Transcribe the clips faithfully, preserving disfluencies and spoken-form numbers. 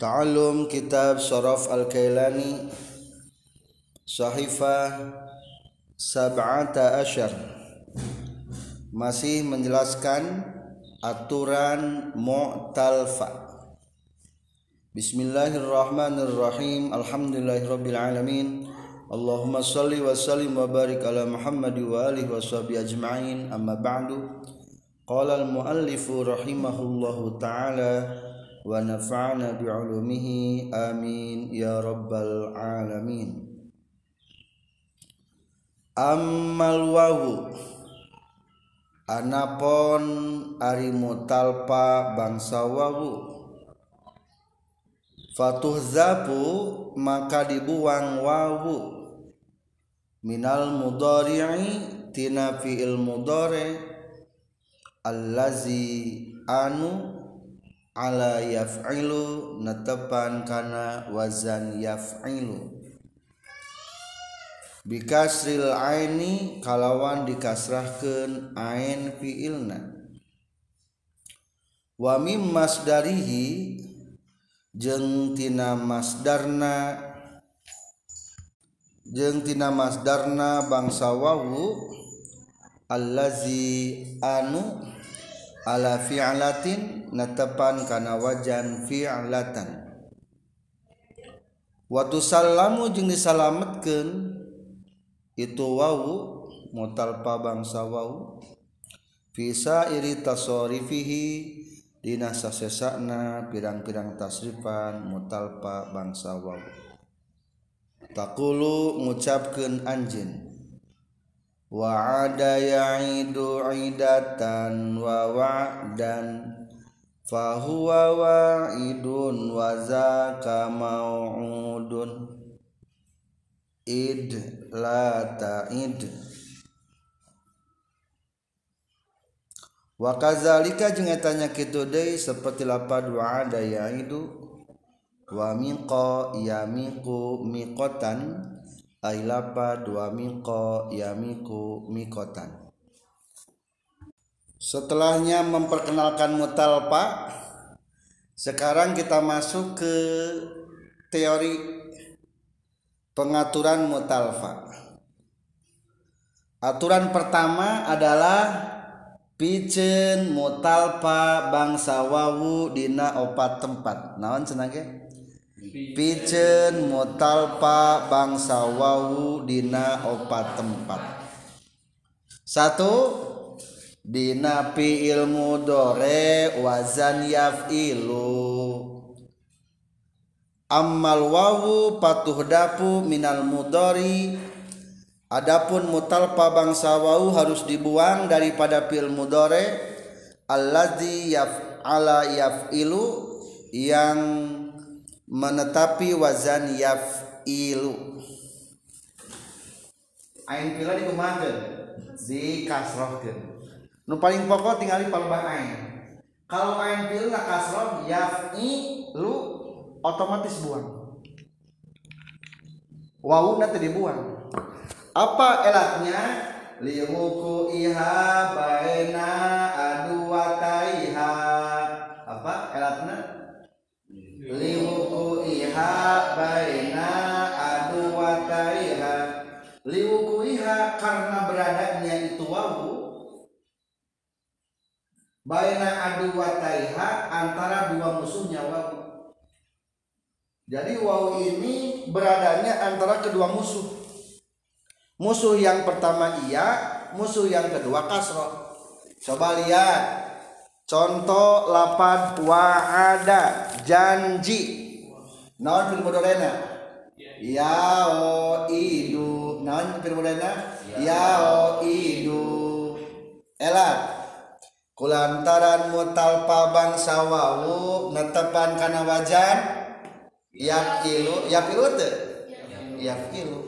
Ta'allum Kitab Syaraf Al-Kailani Sahifah Sab'ata Asyar, masih menjelaskan aturan mu'talfa. Bismillahirrahmanirrahim. Alhamdulillahirabbil alamin. Allahumma shalli wa sallim wa barik ala Muhammad wa alihi wa sahbihi ajma'in. Amma ba'du. Qala al-muallifu rahimahullahu ta'ala wa nafa'ana bi'ulumihi amin ya rabbal alamin. Ammal wawu anapon ari mutalpa bangsa wawu, fatuhzabu maka dibuang wawu, minal mudhari'i tina fi'il mudhari allazi anu ala yaf'ilu netepan kana wazan yaf'ilu, bikasril aini kalawan dikasrahkeun ain fi'ilna, wa mim masdarihi jeung tina masdarna jeung tina masdarna bangsa wawu, allazi anu ala fi'latin netepan kana wajan fi'latan, wa tusallamu jeung disalametkeun itu wawu mutalpa bangsa wawu fi sairi tasarifihi dina sasesana pirang-pirang tasrifan mutalpa bangsa wawu. Taqulu ngucapkeun anjeun, wa'ada ya'idu idatan wa wa'dan fahuwa wa'idun wa zaka mau'udun id la ta'id. Wa kadzalika jeung eta nya kitu deui saperti lapad wa'ada ya'idu wa miqa yamiqu miqatan ay lapad wa miqa yamiqu miqatan. Setelahnya memperkenalkan mutalpa, sekarang kita masuk ke teori pengaturan mutalfa. Aturan pertama adalah pikeun mutalpa bangsa wawu dina opat tempat. Naon cenah ge? Pikeun mutalpa bangsa wawu dina opat tempat. Satu, dina fi'il mudhari wazan yaf'ilu. Ammal wawu patuhdapu minal mudhari, adapun mutalpa bangsa wawu harus dibuang daripada fi'il mudhari allazi yaf'ala yaf'ilu yang menetapi wazan yaf'ilu. Ain pila dikumakeun dikasrohkeun. Nu paling pokok tinggali palebah ain. Kalau ain pila kasroh yaf'ilu otomatis buang. Wawu nanti dibuang. Apa elatnya? Limuku iha baina aduwataiha. Apa elatnya? Limuku iha baina aduwataiha. Limuku iha karena beradanya itu wawu baina aduwataiha antara dua musuhnya wawu. Jadi wawu ini beradanya antara kedua musuh. Musuh yang pertama iya, musuh yang kedua kasroh. Coba lihat contoh lapad wa'ada janji. Naon fil mudhari'na? Yaidu. Naon fil mudhari'na? Yaidu. Elat kulantaran mutalpa bangsa wawu netepan kana wajan yafilu, yafilu teh? Yafilu.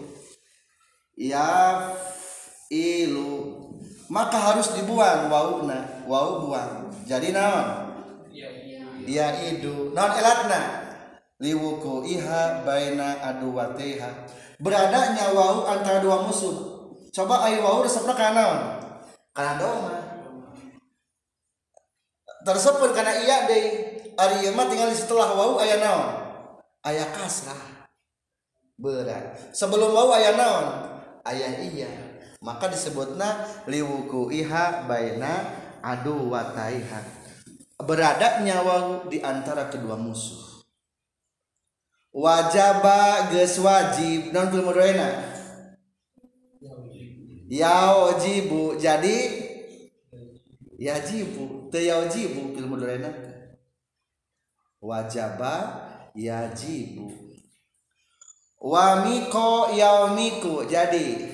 Yafilu. Maka harus dibuang wawuna, wawu buang. Jadi naon? Yaidu. Naon elatna? Liwuku iha baina aduwatiha. Beradanya wawu antara dua musuh. Coba ayo wawu resepna kana naon? Kana doma. Tersebut kana iya deui. Ari ieu mah tinggal setelah wawu aya naon? aya kasrah berat sebelum wau aya naon aya iya maka disebutna liwuku iha baina adu wataiha beradanya wau di antara kedua musuh wajaba geus wajib naon fil mudhari'na yajibu jadi yajibu teu yajibu fil mudhari'na wajaba yajibu wamiko yaumiku jadi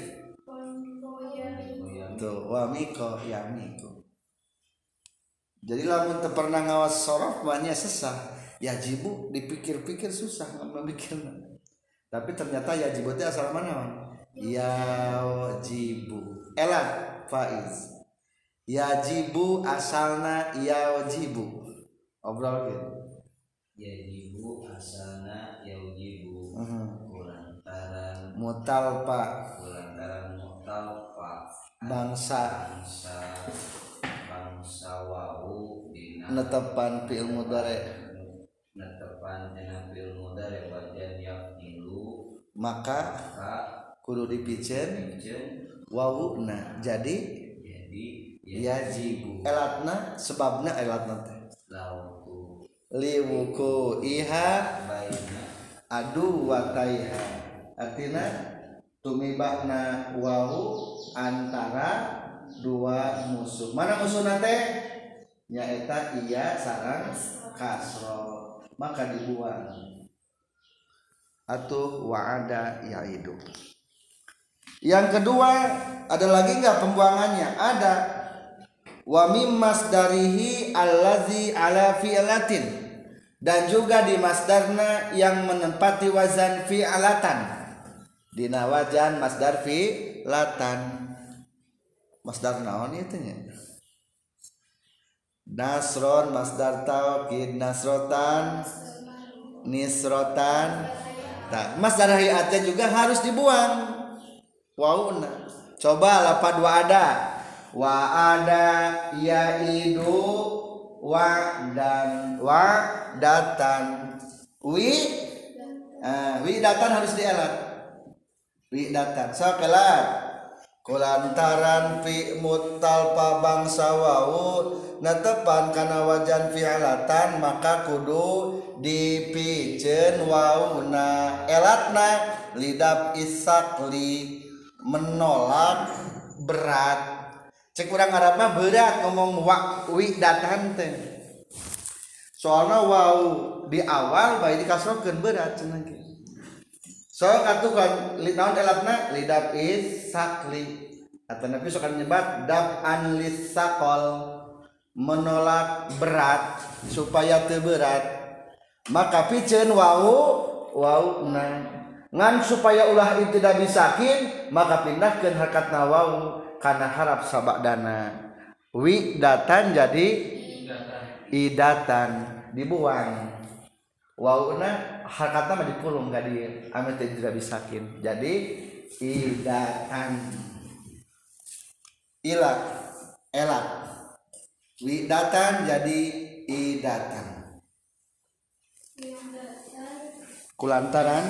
tuh wamiko yaumiku jadi lamun teu pernah ngawas sorof banyak sesah yajibu dipikir-pikir susah memikirna tapi ternyata yajibu itu asal mana yajibu elat faiz yajibu asalna yajibu obrol gitu yajibu asalna yajibu uh-huh. kulantaran mutalpa kulantaran mutalpa bangsa bangsa bangsa wau dina netepan fi'il mudhari netepan dina fi'il mudhari wajan yafilu maka maka kudu dipikeun wawuna jadi jadi yajibu elatna sebabna elatna teh lauku liwuku iha baina adu wataiha artina tumibahna wawu antara dua musuh mana musuhna teh nyaeta iya sareng kasro maka dibuang atuh wa'ada yaidu yang kedua ada lagi enggak pembuangannya ada wa mim masdarihi allazi ala fi'latin dan juga di masdarna yang menempati wazan fi'latan dina wazan masdar fi'latan masdar naon itu nya nasron masdar taukid nasrotan nisrotan tak masdar hayatnya juga harus dibuang wauna coba lapad wa ada wa ada yaidu wa dan wa datan wi uh, wi datan harus dielat wi datan so kelat kulantaran fi mutalpa bangsa wau netepan kana wajan fi'latan maka kudu dipikeun wauna elatna lidab isakli menolak berat cek urang Arab mah berat ngomong wa wi datan teh soalna wau di awal bae dikasrokeun berat cenah ge so atuh kan naon elatna lidab isakli atau nabi sok nyebat dab an lisaqal menolak berat supaya teu berat maka pikeun wau wauna ngan supaya ulah itu tidak bisakin maka pindahkeun hakatna wau kana harap sabadana wi datan jadi idatan dibuang wauna hakatna mah dipulung ka dieu ame teu tidak bisakin jadi idatan ilat elat wi datan jadi idatan kulantaran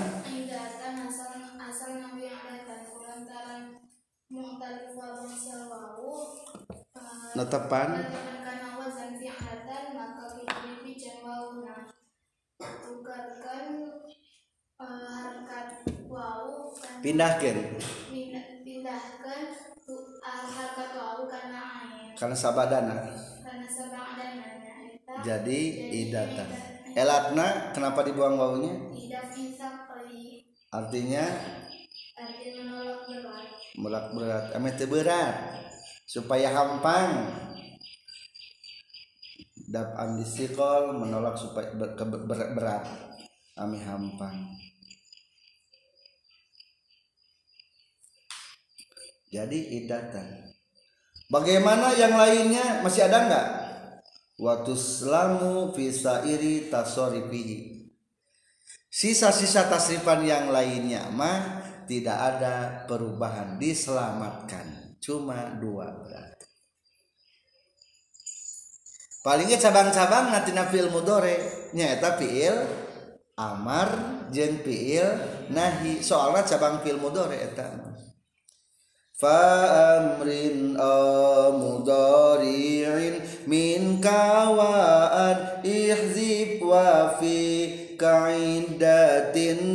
netepan karena wazan fi'latan maka dipikeun wauna tukarkan harkat wau pindahkeun pindahkan harkat wau kana ain karena sabadana karena sabadana jadi idatan elatna kenapa dibuang wawunya idaf insaqli artinya artinya menolak berat menolak berat ame teu berat supaya hampang dab andisikol menolak supaya ber, ke, ber, berat ame hampang jadi idatan bagaimana yang lainnya masih ada enggak waktu selamu fisairi tasorifihi sisa-sisa tasrifan yang lainnya mah tidak ada perubahan diselamatkan cuma dua berarti palingnya cabang-cabang nanti fi'il mudhari nyaeta fi'il amar jeung fiil nahi soalna cabang fiil mudhari eta fa amrin mudhari'in min kawaan ihzib wa fi kaidatin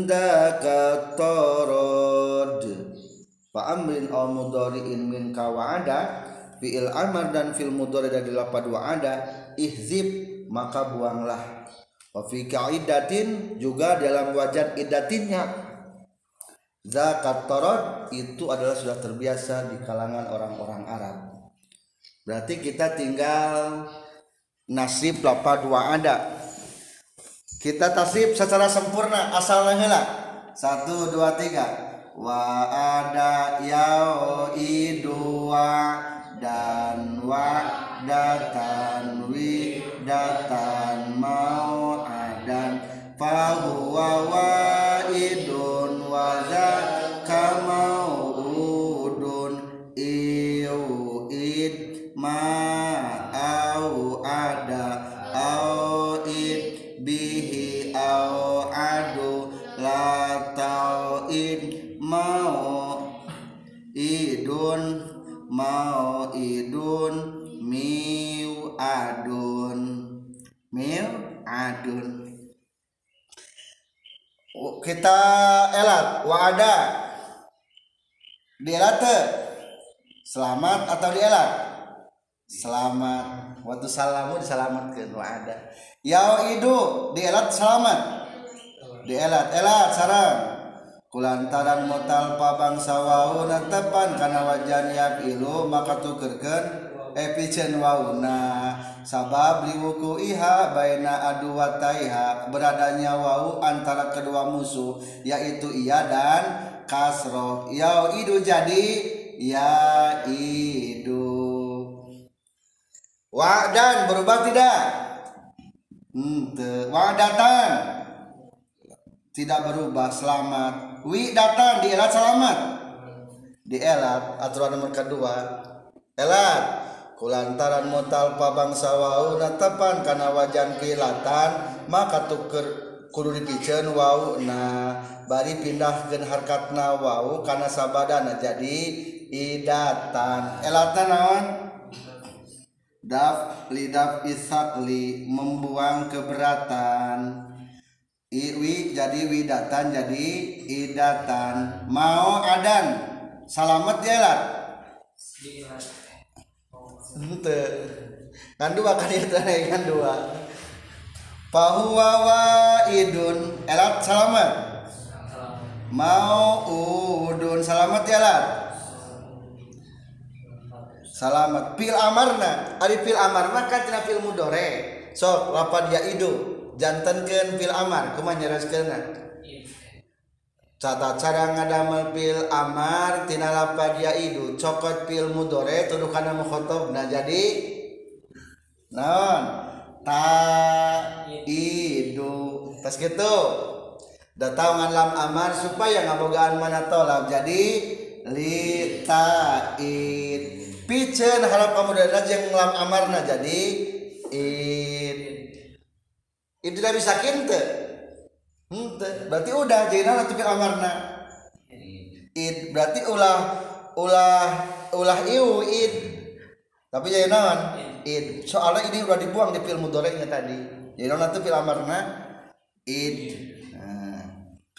dakatorod fa amrin mudhari'in min kawada fiil amar dan fiil mudhari dari lafaz wa'ada ihzib maka buanglah wa fi kaidatin juga dalam wajad idatinnya zakat torod itu adalah sudah terbiasa di kalangan orang-orang Arab. Berarti kita tinggal nasib lafaz wa'ada. Kita tasrif secara sempurna asalna heula. satu dua tiga. Wa'ada yaidu dan wa'datan widatan mau'adan fahuwa wa'idun wa zaka mau'udun iu'id ma'au ada au'id bihi au'adu la ta'id mau'idun mau'idun mi'adun mi'adun. Kita elat wa'ada dielat selamat atau dielat selamat waktu salamu diselamatkan wa'ada yau'idu dielat selamat dielat elat sarang kulantaran motal pabangsa wau natepan kana wajan yaqilu maka tukerkeun epicen wauna sabab liwuku iha baina aduwataiha beradanya wau antara kedua musuh yaitu iya dan kasroh yau'idu jadi yaidu wa'dan berubah tidak ente wa'datan tidak berubah selamat widatan dielat selamat dielat aturan nomor kedua elat kulantaran mutal pabangsa wau natepan kana wajan pilatan maka tuker kudu dipikeun wau na bari pindahkeun harkatna wau kana sabadana jadi idatan elatan naon daf lidaf isakli membuang keberatan iwi jadi widatan jadi idatan mau adan salamet jelat ente kan dua kan itu kan dua fahuwa wa'idun elat salamet mau udun salamet jelat salamet pil amarna ari pil amarna kan tina pil mudhari sok lapad yaidu jantenkeun pil amar kumaha nyereskeunna Tata cara ngadamel pil amar tina lapad yaidu cokot pil mudhari tuduh kana mukhatabna jadi naon taidu tas kitu da taungan lam amar supaya ngabogaan mana tolab jadi li taid piceun harap pamudana jeung lam amarna jadi id itu tidak bisa kinte henteu berarti udah jadi nanti pil amarna id berarti ulah ulah ulah iu id tapi jadi naon id soalnya ini udah dibuang di pil mudhari'nya tadi jadi nanti pil amarna id nah.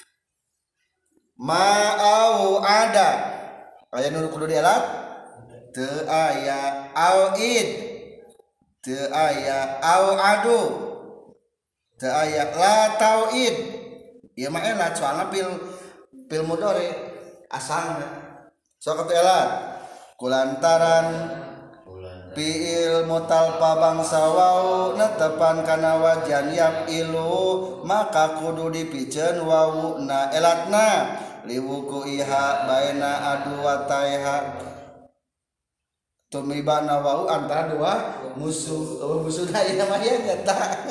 Ma'au ada aya nu kudu dielat teu aya au id teu aya au adu teu aya la tauid ieu mah elat soalna pil pil mudhari asalna sok atuh elat kulantaran fiil mutalpa bangsa wau netepan kana wajan yaqilu maka kudu dipikeun wauna elatna liwuku iha baina aduwataiha tumibana wau antara dua musuh oh, musuhna ieu mah aya nyata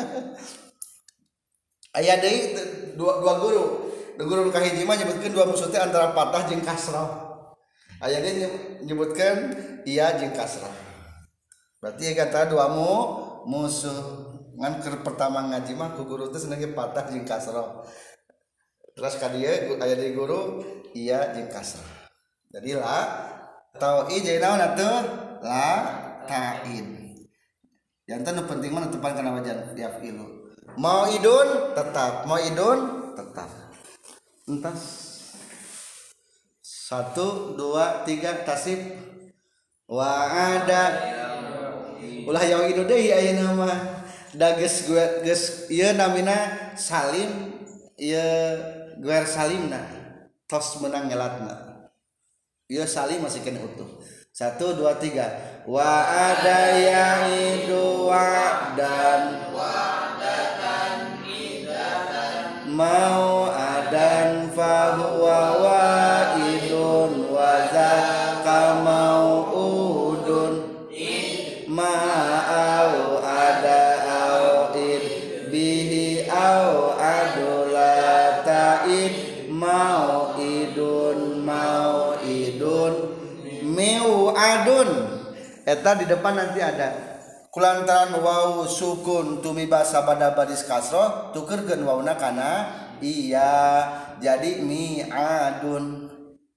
aya deui dua dua guru guru kahiji mah nyebutkeun dua musuh teh antara patah jeung kasrah aya deui nyebutkeun iya jeung kasrah berarti kata dua mu musuh ngan keur pertama ngaji mah ku guru teh seneng patah jeung kasrah terus ka dieu aya di guru iya jeung kasrah jadi la tauid jadi naon atuh la ta'id yang teh penting mah tepan kana wajan yafilu mau idun tetap mau idun tetap entas satu dua tiga tasib wa ada ulah yang itu deh ayeuna mah da geus geus ieu namina salim ieu guer salimna tos menang ngelatna ieu salim masih kena utuh satu dua tiga wa ada yang itu wa dan wadatan idatan mau adan fa huwa waidun wa zaka mauudun ma'au ada au id bihi au adula ta'id mau idun mau idun meu adun eta di depan nanti ada kulantaran waw sukun tumiba sabada badis kasroh tukerkeun wawna kana iya jadi mi'adun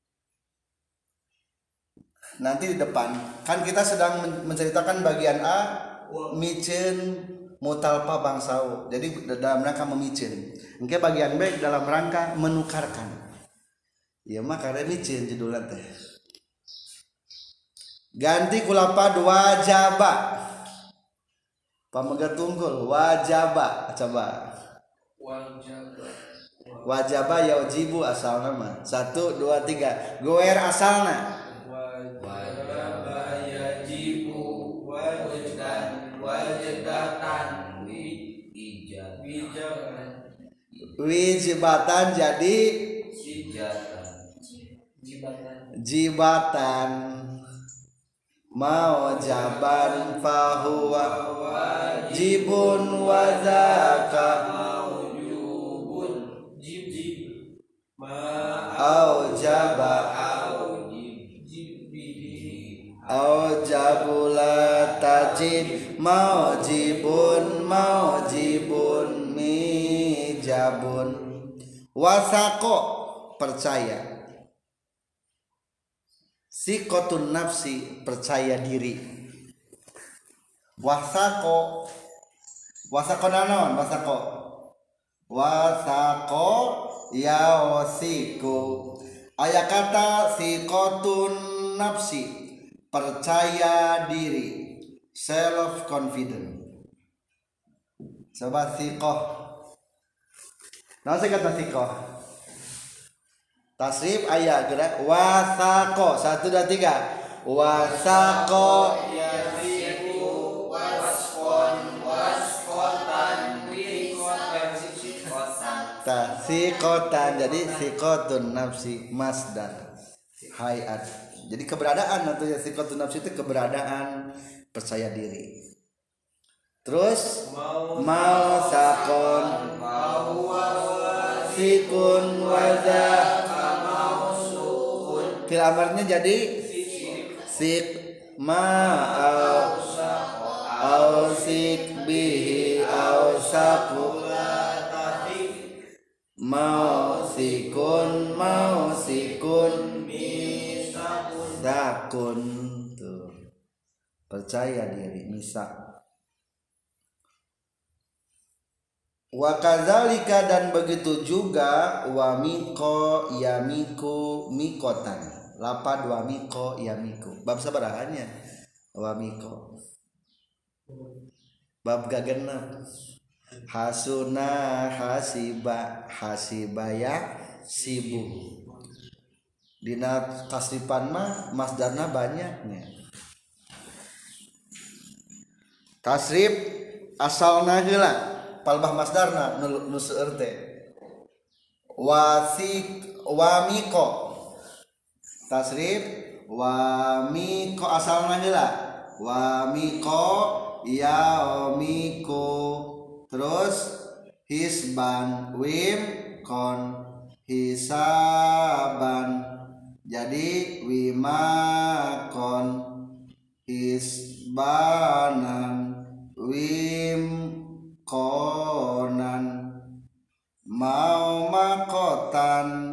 nanti di depan kan kita sedang menceritakan bagian A micen mutalpa bangsau jadi dalam rangka memicen engke bagian B dalam rangka menukarkan ya mah karena micen judulnya teh ganti kulapad wajaba pamega tunggul wajaba coba wajaba wajaba yajibu asalna mah satu dua tiga goer asalna wajaba yajibu wajdan wajdatan wijabatan wijibatan jadi jibatan mau jaban fahuwa wajibun wazaka maujubun jib au jaba au jabula tajid maujibun maujibun mijabun wasako percaya sikotun nafsi percaya diri wasako wasako nanon wasako wasako yaosiku aya kata sikotun nafsi percaya diri self confident coba sikoh nah saya kata sikoh tasrif ayat gerak wasako satu dua tiga wasako yasiku waskon waskotan wikotan sikotan jadi sikotun nafsi masdar hayat jadi keberadaan atau ya sikotun nafsi itu keberadaan percaya diri terus mau sakon sikun wazah fil amarnya jadi sik ma au au sik bihi au saku mau sikun mau sikun misakun tuh percaya diri misak wa kadzalika dan begitu juga wa miko yamiku mikotan lapad wa miko yamiku bab sabarahannya wa miko bab gagenep hasuna hasiba hasibaya sibu dina tasrifan mah masdarna banyaknya tasrif asalna heula palbah masdarna nu seueur teh wasik wamiko tasrif wamiko asalna heula wamiko yaomiko terus hisban wim kon hisaban jadi wimakon hisbanan wim konan mau makotan.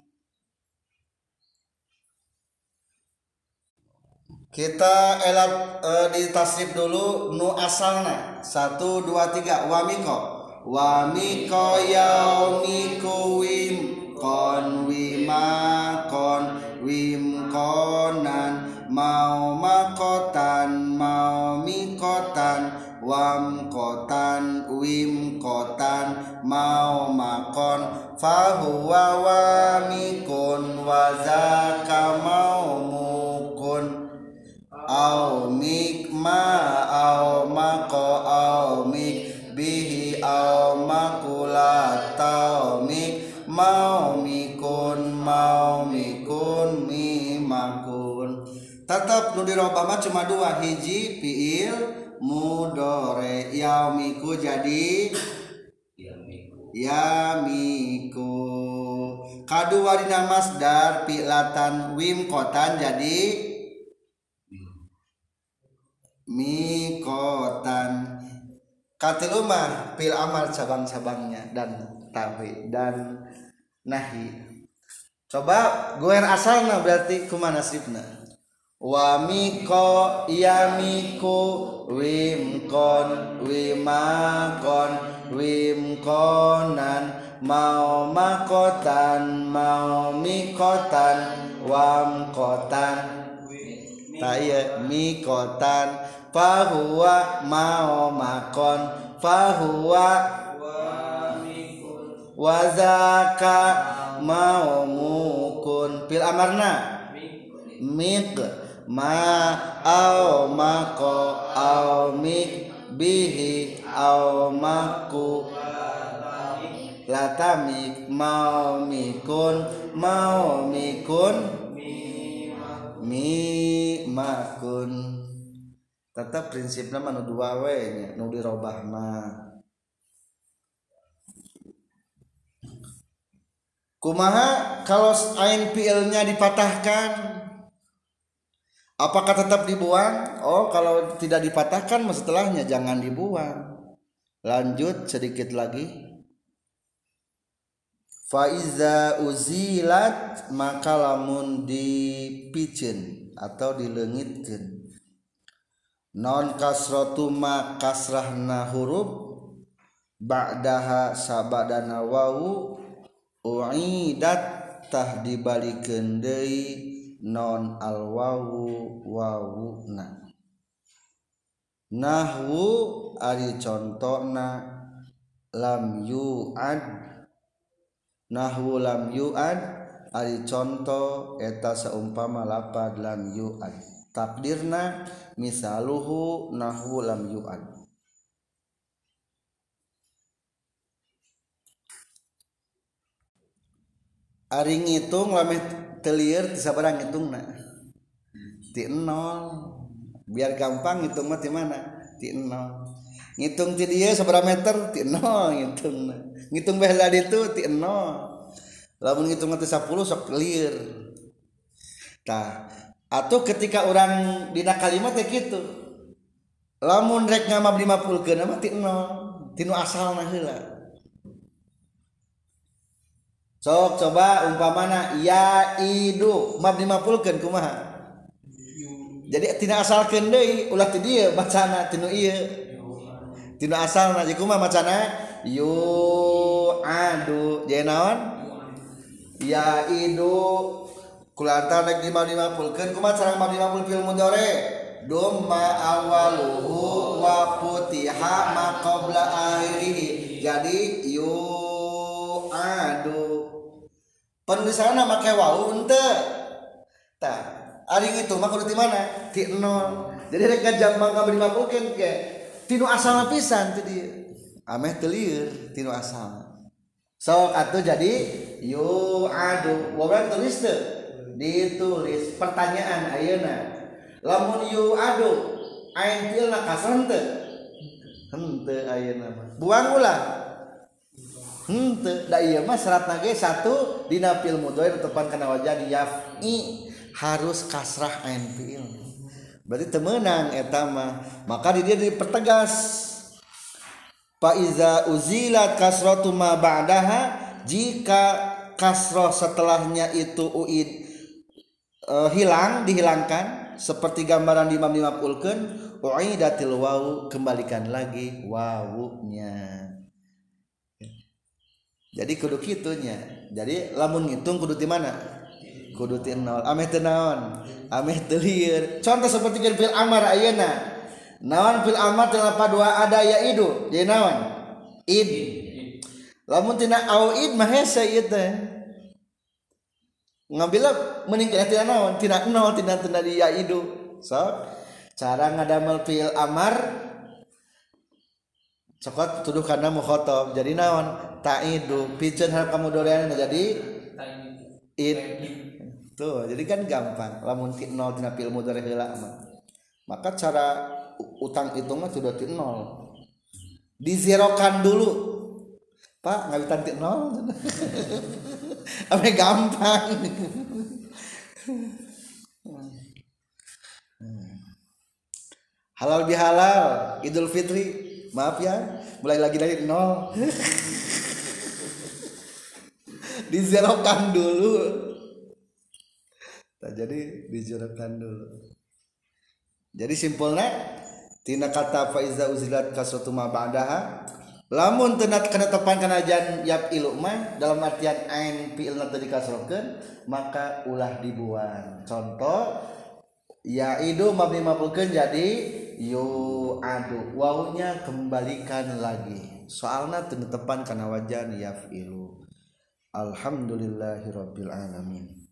Kita elat e, di tasrif dulu nu asalna. Satu dua tiga. Wamiko wamiko yaumiku wim kon wima kon wim konan mau makotan mau mikotan wam kotan wim kotan mau makon fahuwa wamikun wazaka mau mukun au mikma au mako au mik bihi au makula tau mik mau mikun mau mikun mi makun. Tetap nu dirobah mah cuma dua, hiji fiil mudore yaumiku jadi yamiku yamiku, kadua dina masdar fi'latan wim kotan jadi mikotan. Katilu mah fil amal cabang-cabangnya dan tauhid dan nahi. Coba goer asalna berarti kumaha nasibna? Wa miko yamiku wim kon wimakon wim konan mau makotan mau mikotan wam kotan taya mikotan fahuwa mau makon fahuwa wazaka mau mukun. Fil amarna mik ma au mako au mik bihi au maku latamik mau mikun mau mikun mi makun. Tetap prinsipnya manu dua we nya nu dirobah mah. Kumaha kalau ain fi'ilnya dipatahkan? Apakah tetap dibuang? Oh, kalau tidak dipatahkan mah setelahnya jangan dibuang. Lanjut sedikit lagi. Faiza uzilat maka lamun dipicen atau dileungitkeun non kasratu ma kasrahna huruf ba'daha sabadana wawu uidat tah dibalikeun deui non al wawu wawuna. Nahwu ari contona lam yu'ad. Nahwu lam yu'ad ari contoh eta saumpama lapad lam yu'ad. Takdirna misaluhu nahwu lam yu'ad. Ari ngitung lameh telieur ti sabaraha ngitungna? Ti nol. Biar gampang ngitung mah ti mana? Ti nol. Ngitung ti dieu sabaraha meter? Ti nol ngitungna. Ngitung baheula ditu ti nol. Lamun ngitung ti sepuluh sok lieur. Tah, atuh ketika orang dina kalimat teh kitu. Lamun rek ngamab dimapulkeun mah ti nol, ti nu asalna heula. Sok coba umpamana ya idu mab dimapulkeun kumaha? Jadi tina asalkeun deui ulah ti dieu bacana tinu ieu. Tinu asalna jadi kumaha macana? Yu adu jadi naon? Ya idu kulantar rek dimapulkeun kumaha cara mab dimapul fil mudhari? Dumma awaluhu wa futiha ma qabla akhirih. Jadi yu adu penulisanna make wawu henteu. Tah, ari itu mah kudu ti mana? Ti nol. Jadi rek ngajam mangka dimapulkeun ke tinu asalna pisan ti dieu. Ameh teu lieur tinu asalna. Sok atuh jadi yu adu. Wawan tulis teu? Ditulis pertanyaan ayeuna. Lamun yu adu ain fi'ilna kasrah teu? Henteu ayeuna mah. Buang ulah. Henteu da ieu mah syaratna ge satu dina fi'il mudhari tepan kana wajah yaf'i harus kasrah ain fi'il. Berarti teu meunang eta mah. Maka di dia dipertegas. fa iza uzilat kasratu ma ba'daha, jika kasroh setelahnya itu uid e, hilang dihilangkan seperti gambaran di imam dimaf'ulkeun, uidatil wawu, kembalikan lagi wawunya. Jadi kudu kitunya. Jadi lamun ngitung kudu ti mana? Kudu ti nol. Ameh teu naon? Ameh teu lieur. Contoh seperti kan fil amar ayeuna. Naon fil amar teu lapa dua ada yaidu. Jadi naon? Id. Lamun tina au id mah hese ieu teh. Ngambilna mending tina naon? Tina nol, tina tina di yaidu. So, cara ngadamel fil amar cokot tuduh kana mukhatab. Jadi naon? Ta'idu, piceun harap kamu doreana jadi id. Tuh, jadi kan gampang. Lamun ti nol tina fil mudhari heula mah. Maka cara utang hitungnya sudah ti nol. Dizerokan dulu. Pak, ngawitan ti nol. Ame gampang. Halal bihalal, Idul Fitri. Maaf ya, mulai lagi dari nol. Dizerokan dulu. Nah, jadi dizerokan dulu. Jadi simpulnya tina kata fa iza uzilat kasratu ma ba'daha, lamun teu kana tepan kana jan yap ilu mah dalam artian ain fi'ilna teu dikasrokeun, maka ulah dibuang. Contoh yaidu mabni maf'ulkeun jadi yu adu, wawunya kembalikan lagi. Soalna teu tepan kana wajan yaf'ilu. Alhamdulillahirabbil alamin.